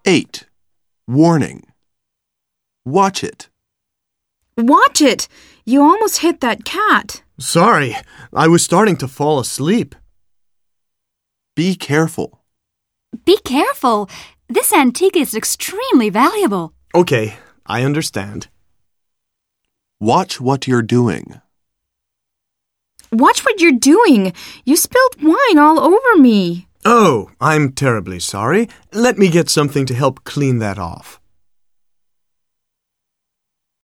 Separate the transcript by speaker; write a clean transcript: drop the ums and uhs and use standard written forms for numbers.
Speaker 1: 8. Warning. Watch it.
Speaker 2: Watch it! You almost hit that cat.
Speaker 3: Sorry, I was starting to fall asleep.
Speaker 1: Be careful.
Speaker 4: Be careful. This antique is extremely valuable.
Speaker 3: Okay, I understand.
Speaker 1: Watch what you're doing.
Speaker 2: Watch what you're doing. You spilled wine all over me.
Speaker 3: Oh, I'm terribly sorry. Let me get something to help clean that off.